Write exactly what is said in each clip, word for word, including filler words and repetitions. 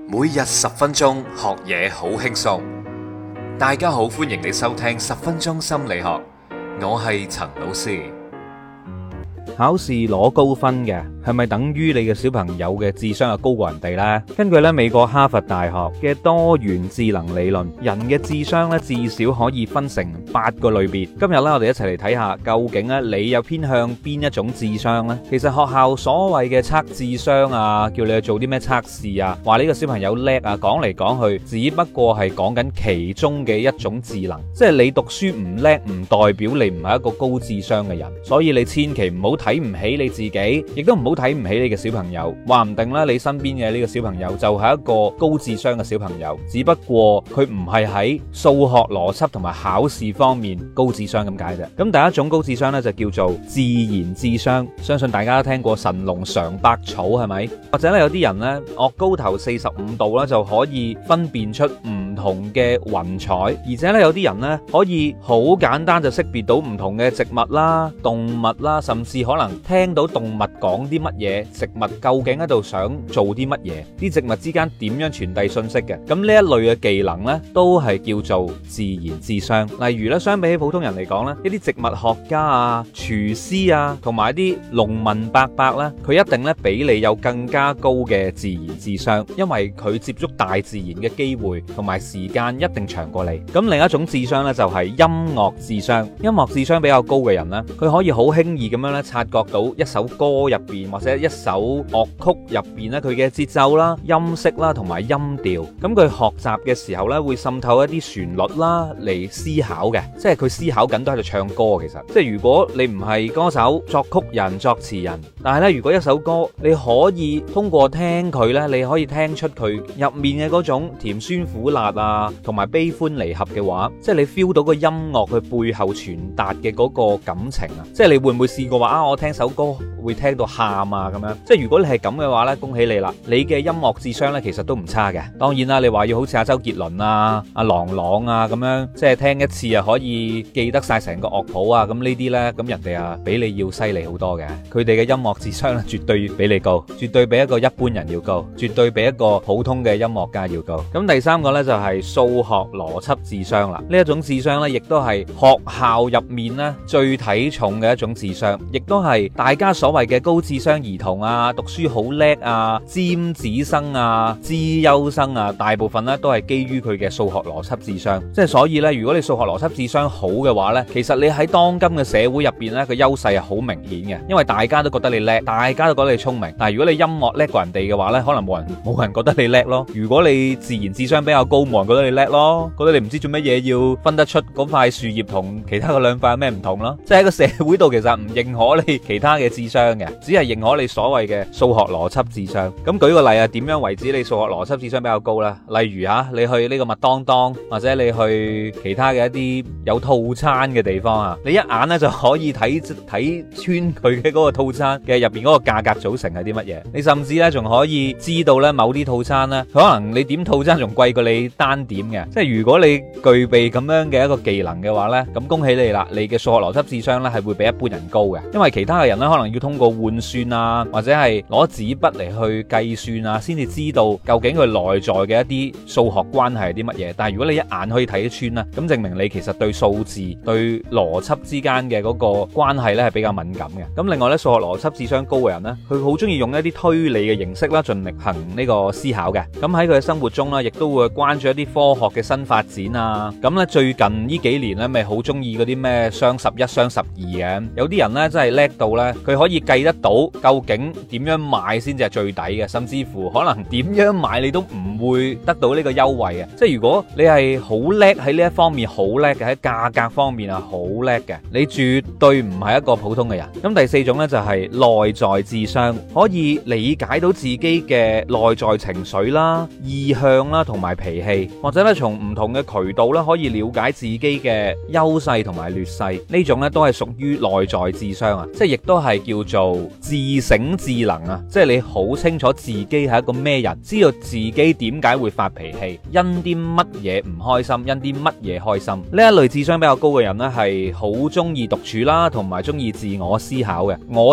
每日十分鐘學嘢好輕鬆。大家好，歡迎你收聽十分鐘心理學，我係陳老師。 考試攞高分嘅係咪等於你嘅小朋友嘅智商係高過人哋呢？根據咧美國哈佛大學嘅多元智能理論，人嘅智商咧至少可以分成八個類別。今日咧我哋一齊嚟睇下，究竟咧你又偏向邊一種智商呢？其實學校所謂嘅測智商啊，叫你去做啲咩測試啊，話呢個小朋友叻啊，講嚟講去，只不過係講緊其中嘅一種智能，即係你讀書唔叻，唔代表你唔係一個高智商嘅人。所以你千祈唔好睇唔起你自己，亦都唔好睇唔起你嘅小朋友。話唔定咧，你身邊嘅呢個小朋友就係一個高智商嘅小朋友，只不過佢唔係喺數學邏輯同埋考試方面高智商咁解啫。咁第一種高智商咧就叫做自然智商，相信大家都聽過神農嘗百草係咪？或者咧有啲人咧岳高頭四十五度咧就可以分辨出唔同嘅雲彩，而且咧有啲人咧可以好簡單就識別到唔同嘅植物啦、動物啦，甚至可能聽到動物講啲乜嘢，植物究竟喺度想做啲乜嘢，啲植物之間點樣傳遞信息嘅。咁呢一類嘅技能呢，都係叫做自然智商。例如咧，相比起普通人嚟講呢，一啲植物學家啊、廚師啊，同埋一啲農民伯伯呢，佢一定咧比你有更加高嘅自然智商，因為佢接觸大自然嘅機會同埋時間一定長過你。咁另一種智商呢，就係音樂智商。音樂智商比較高嘅人呢，佢可以好輕易咁樣咧察覺到一首歌入邊或者一首樂曲入邊咧佢嘅節奏啦、音色啦同埋音調。咁佢學習嘅時候咧會滲透一啲旋律啦嚟思考嘅，即係佢思考緊都喺度唱歌。其實即係如果你唔係歌手、作曲人、作詞人，但係咧如果一首歌你可以通過聽佢咧，你可以聽出佢入面嘅嗰種甜酸苦辣啊，同埋悲歡離合嘅話，即係你 feel 到個音樂佢背後傳達嘅嗰個感情啊！即係你會唔會試過話啊？我聽首歌會聽到喊啊咁樣，即係如果你係咁嘅話呢，恭喜你啦！你嘅音樂智商呢，其實都唔差嘅。當然啦，你話要好似阿周杰倫啊、阿郎朗啊咁樣，即係聽一次啊可以記得晒成個樂譜啊，咁呢啲呢，咁人哋啊比你要犀利好多嘅。佢哋嘅音樂智商呢，絕對比你高，絕對比一個一般人要高，絕對比一個普通嘅音樂家要高。咁第三個呢，就係數學邏輯智商啦。呢一種智商呢，亦都係學校入面呢最睇重嘅一種智商，亦都係大家所謂嘅高智商兒童啊，讀書好叻啊，尖子生啊，資優生啊，大部分咧都係基於佢嘅數學邏輯智商。即係所以咧，如果你數學邏輯智商好嘅話咧，其實你喺當今嘅社會入邊咧，個優勢係好明顯嘅，因為大家都覺得你叻，大家都覺得你聰明。但係如果你音樂叻過人哋嘅話咧，可能冇人冇人覺得你叻咯。如果你自然智商比較高，冇人覺得你叻咯，覺得你唔知做乜嘢要分得出嗰塊樹葉同其他嘅兩塊有咩唔同咯。即係喺個社會度其實唔認可你其他嘅智商嘅，只係認可你所謂嘅數學邏輯智商。咁舉個例啊，點樣為止你數學邏輯智商比較高呢？例如啊，你去呢個麥當當或者你去其他嘅一啲有套餐嘅地方啊，你一眼咧就可以睇睇穿佢嘅嗰個套餐嘅入邊嗰個價格組成係啲乜嘢。你甚至咧仲可以知道咧某啲套餐咧，可能你點套餐仲貴過你單點嘅。即係如果你具備咁樣嘅一個技能嘅話呢，咁恭喜你啦，你嘅數學邏輯智商咧係會比一般人高嘅。因為其他嘅人咧可能要通過換算啊，或者係攞紙筆嚟去計算啊，先至知道究竟佢內在嘅一啲數學關係係啲乜嘢。但係如果你一眼可以睇得穿啦，咁證明你其實對數字、對邏輯之間嘅嗰個關係咧係比較敏感嘅。咁另外咧，數學邏輯智商高嘅人咧，佢好中意用一啲推理嘅形式啦，盡力行呢個思考嘅。咁喺佢嘅生活中咧，亦都會關注一啲科學嘅新發展啊。咁咧最近呢幾年咧，咪好中意嗰啲咩雙十一、雙十二嘅。有啲人咧真係叻到咧，佢可以計得到究竟點樣買先至係最抵嘅，甚至乎可能點樣買你都唔會得到呢個優惠嘅。即係如果你係好叻喺呢一方面，好叻嘅喺價格方面啊，好叻嘅，你絕對唔係一個普通嘅人。咁第四種呢，就係內在智商，可以理解到自己嘅內在情緒啦、意向啦同埋脾氣，或者咧從唔同嘅渠道咧可以了解自己嘅優勢同埋劣勢。呢種咧都係屬於內在智商啊，即係亦都係叫做自省智能啊，即係你好清楚自己係一個咩人，知道自己點解會發脾氣，因啲乜嘢唔開心，因啲乜嘢開心。呢一類智商比較高嘅人呢，係好中意獨處啦，同埋中意自我思考嘅。我就係一個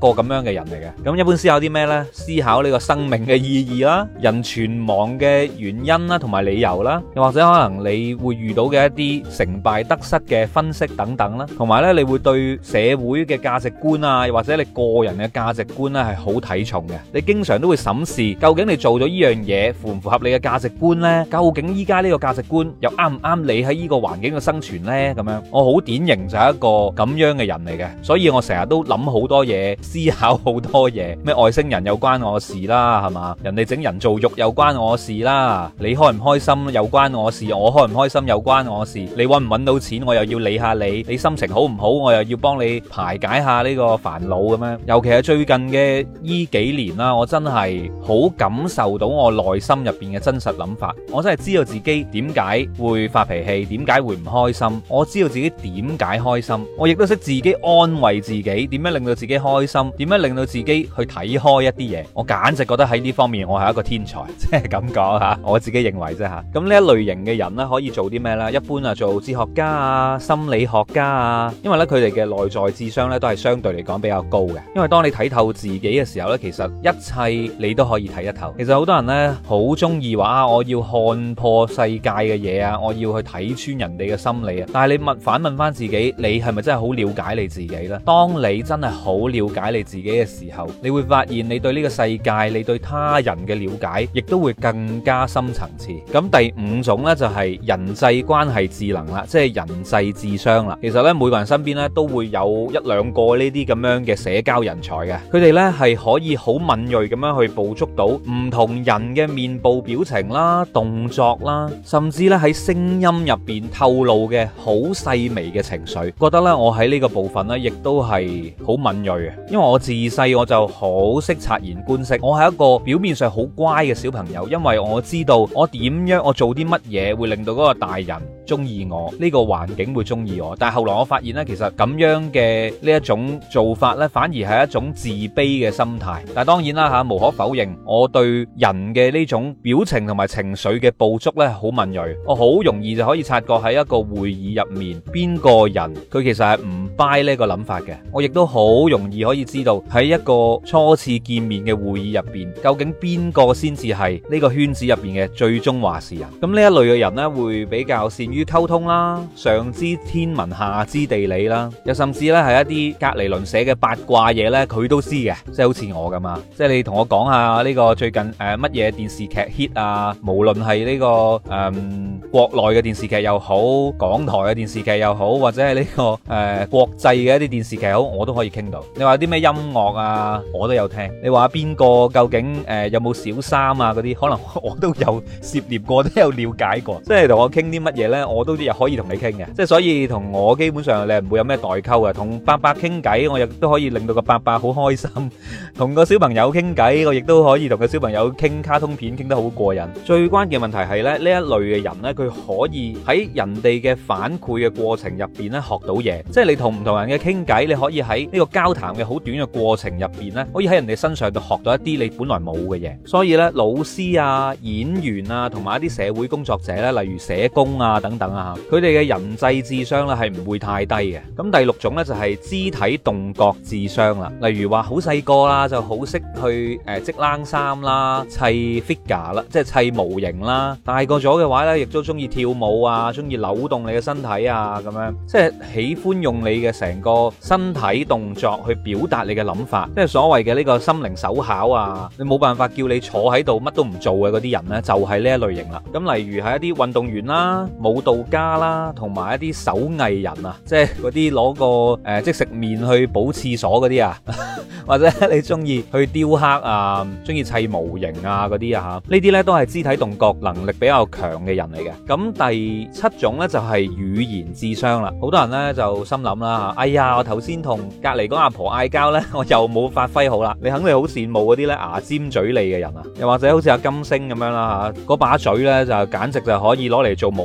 個咁樣嘅人嚟嘅。咁一般思考啲咩呢？思考呢個生命嘅意義啦，人存亡嘅原因啦，同埋理由啦，又或者可能你會遇到嘅一啲成敗得失嘅分析等等啦，同埋呢，你會對社會嘅價值觀啊，又或者你個人嘅價值觀呢係好睇重嘅。你經常都會審視，究竟你做咗呢樣嘢符唔符合你嘅價值觀呢？究竟依家呢個價值觀又啱唔啱你喺呢個環境嘅生存呢？咁樣，我好典型就係一個咁樣嘅人嚟嘅，所以我成日都諗好多嘢，思考好多嘢，咩外星人又關我事啦，係嘛？人哋整人造肉又關我事啦，你開唔開心又關我事，我開唔開心又關我事，你搵唔搵到錢我又要理下你，你心情好唔好我又要幫你排解下呢個煩惱咁樣。尤其係最近嘅依幾年啦，我真係好感受到我內心入邊嘅真實諗法，我真係知道自己點解會發脾氣，點解會唔開心，我知道自己點解開心，我亦都識自己安慰自己，點樣令到自己開心，點樣令到自己去睇開一啲嘢。我簡直覺得喺呢方面我係一個天才，即係咁講吓，我自己認為啫吓。咁呢一類型嘅人咧，可以做啲咩呢？一般啊，做哲學家啊、心理學家啊，因為咧佢哋嘅內在智商咧都係相對嚟講比較高嘅。因為當你睇透自己嘅時候咧，其實一切你都可以睇得透。其實好多人咧好中意話我要看破世界嘅嘢啊，我要去睇穿人哋嘅心理啊。但係你問反問翻自己，你係咪真係好了解你自己呢？當你真係好了解你自己嘅時候，你會發現你對呢個世界，你對他人嘅了解，亦都會更加深層次。咁第五種呢，就係人際關係智能啦，即係人際智商啦。其實呢，每個人身邊呢，都會有一兩個呢啲咁樣嘅社交人才嘅，佢哋呢，係可以好敏銳咁樣去捕捉到唔同人嘅面部表情啦、動作啦，甚至咧喺聲音入邊透露嘅好細微嘅情緒。覺得咧我喺呢個部分咧，亦都係好敏銳嘅，因為我自細我就好識察言觀色，我係一個表面上好乖嘅小朋友，因為我知道我點樣我做啲乜嘢會令到嗰個大人中意我，呢個環境會中意我。但係後來我發現咧，其實咁樣嘅呢一種做法咧，反而係一種自卑嘅心態。但係當然啦吓，無可否認，我對人嘅呢種表情同埋情緒嘅捕捉咧，好敏銳。我好容易就可以察覺喺一個會議入面，邊個人佢其實係唔 buy 呢個諗法嘅。我亦都好容易可以知道喺一個初次見面嘅會議入邊，究竟邊個先至係呢個圈子入邊嘅最終話事人。咁呢一類嘅人呢，會比較善於溝通啦，上知天文下知地理啦，又甚至咧係一啲隔籬鄰舍嘅八卦嘢呢，佢都知嘅，即係好似我咁啊。即係你同我講下呢個最近誒乜嘢電視劇 hit 啊，無論係呢個誒、嗯、國內嘅電視劇又好，港台嘅電視劇又好，或者係呢、這個誒、呃、國際嘅一啲電視劇好，我都可以傾到。你話啲咩音樂啊，我都有聽。你話邊個究竟誒、呃、有冇小三啊嗰啲，可能我都有涉獵過，都有了解過。即係同我傾啲乜嘢呢，我都又可以同你傾嘅。即係所以同我基本上你係唔會有咩代溝嘅。同伯伯傾偈，我亦都可以令到個伯伯好開心。同個小朋友傾偈，我亦都可以同個小朋友傾卡通片，傾得好過癮。最關鍵問題係咧，呢一類嘅人呢，佢可以喺人哋嘅反饋嘅過程入邊咧學到嘢。即係你同唔同人嘅傾偈，你可以喺呢個交談嘅好短嘅過程入邊咧，可以喺人哋身上度學到一啲你本來冇嘅嘢。所以呢，老師啊、演員啊，同埋一啲社會工作者咧，例如社工啊等等啊，佢哋嘅人際智商咧係唔會太低嘅。咁第六種呢，就係肢體動覺智商啦，例如話好細個啦就好識去誒織冷衫啦、砌 figure 啦，即係砌模型啦。大個咗嘅話呢，亦都中意跳舞啊，中意扭動你嘅身體啊，咁樣即係喜歡用你嘅成個身體動作去表達你嘅諗法，即係所謂嘅呢個心靈手巧啊。你冇辦法叫你坐喺度乜都唔做嘅嗰啲人呢，就係呢一類型啦。咁例如係一啲運動員啦、舞蹈家啦，同埋一啲手藝人啊，即係嗰啲攞個誒、呃、即食麵去補廁所嗰啲啊，或者你中意去雕刻啊，中意砌模型啊嗰啲啊吓，呢啲呢都係肢體動覺能力比較強嘅人嚟嘅。咁第七種呢，就係語言智商啦。好多人呢就心諗啦，哎呀，我頭先同隔籬嗰阿婆嗌交呢，我又冇發揮好啦。你肯定好羨慕嗰啲呢牙尖嘴利嘅人啊，又或者好似阿金星咁樣啦吓，嗰把嘴呢就簡直就可以攞嚟做武器嘅。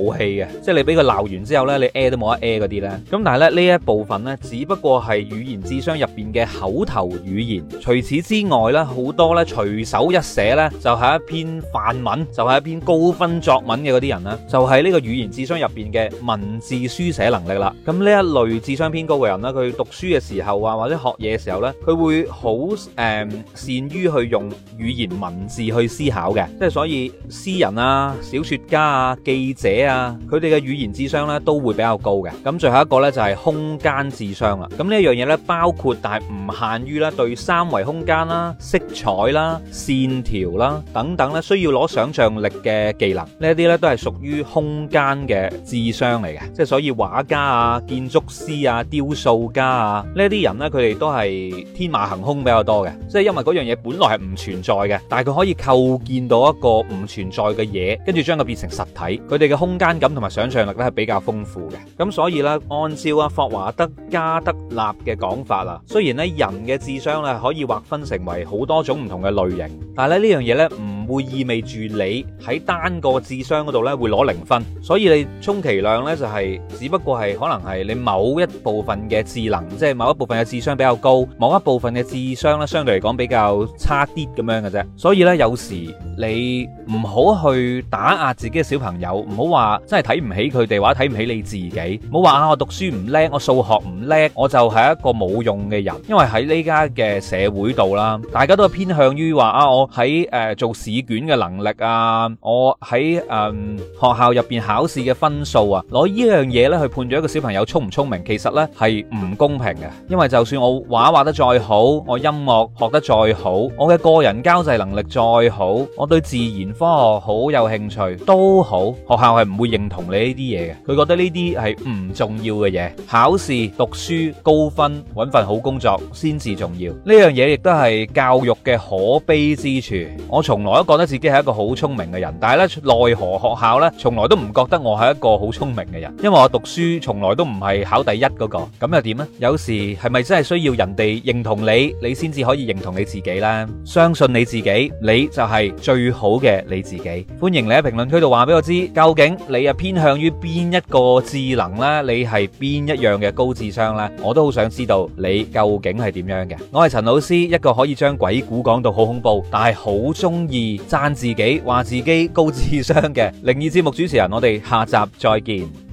嘅，即係你俾佢鬧完之後呢，你 a 都冇得 a 嗰啲呢。咁但係咧呢一部分呢，只不過係語言智商入邊嘅口頭語言。除此之外呢，好多呢隨手一寫呢，就係一篇範文，就係一篇高分作文嘅嗰啲人呢，就係呢個語言智商入邊嘅文字書寫能力啦。咁呢一類智商偏高嘅人呢，佢讀書嘅時候啊，或者學嘢嘅時候呢，佢會好誒、呃、善於去用語言文字去思考嘅。即係所以詩人啊、小說家啊、記者啊，佢哋嘅語言智商呢都會比較高嘅。咁最後一個呢，就係空間智商啦。咁呢一樣嘢呢，包括但係唔限於咧對三維空間啦、色彩啦、線條啦等等咧需要攞想象力嘅技能，呢一啲咧都係屬於空間嘅智商嚟嘅。即係所以畫家啊、建築師啊、雕塑家啊呢啲人咧，佢哋都係天馬行空比較多嘅。即係因為嗰樣嘢本來係唔存在嘅，但係佢可以構建到一個唔存在嘅嘢，跟住將佢變成實體。佢哋嘅空間感同埋想象力咧係比較豐富嘅。咁所以咧，按照啊霍華德加德納嘅講法啊，雖然咧人嘅智商咧可以劃分成為好多種唔同嘅類型，但係咧呢樣嘢咧唔會意味住你喺單個智商嗰度咧會攞零分。所以你充其量咧就係只不過係可能係你某一部分嘅智能，即係某一部分嘅智商比較高，某一部分嘅智商咧相對嚟講比較差啲咁樣嘅啫。所以咧有時你唔好去打壓自己嘅小朋友，唔好話真係睇唔起佢哋，或者睇唔起你自己，唔好話啊我讀書唔叻，我數學唔叻，我就係一個冇用嘅人。因為喺呢家嘅社會度啦，大家都係偏向於話啊我喺誒、呃、做試卷嘅能力啊，我喺誒、呃、學校入邊考試嘅分數啊，攞呢樣嘢咧去判斷一個小朋友聰唔聰明，其實咧係唔公平嘅。因為就算我畫畫得再好，我音樂學得再好，我嘅個人交際能力再好，我對自然科學好有興趣都好，學校係唔會認同你呢啲嘢嘅。佢覺得呢啲係唔重要嘅嘢，考試、讀書、高分、搵份好工作先至重要。呢樣嘢亦都係教育嘅可悲之處。我從來都覺得自己係一個好聰明嘅人，但係咧奈何學校咧從來都唔覺得我係一個好聰明嘅人，因為我讀書從來都唔係考第一嗰個。咁又點呢？有時係咪真係需要人哋認同你，你先至可以認同你自己呢？相信你自己，你就係最好嘅你自己。歡迎你喺評論區度話俾我知，究竟你啊偏向於邊一個智能呢？你係邊一樣嘅高智商呢？我都好想知道你究竟係點樣嘅。我係陳老師，一個可以將鬼故講到好恐怖，但係好中意讚自己話自己高智商嘅靈異節目主持人。我哋下集再見。